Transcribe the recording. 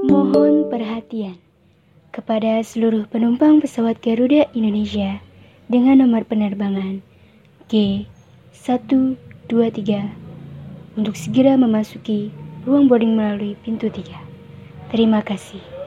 Mohon perhatian kepada seluruh penumpang pesawat Garuda Indonesia dengan nomor penerbangan G123 untuk segera memasuki ruang boarding melalui pintu 3. Terima kasih.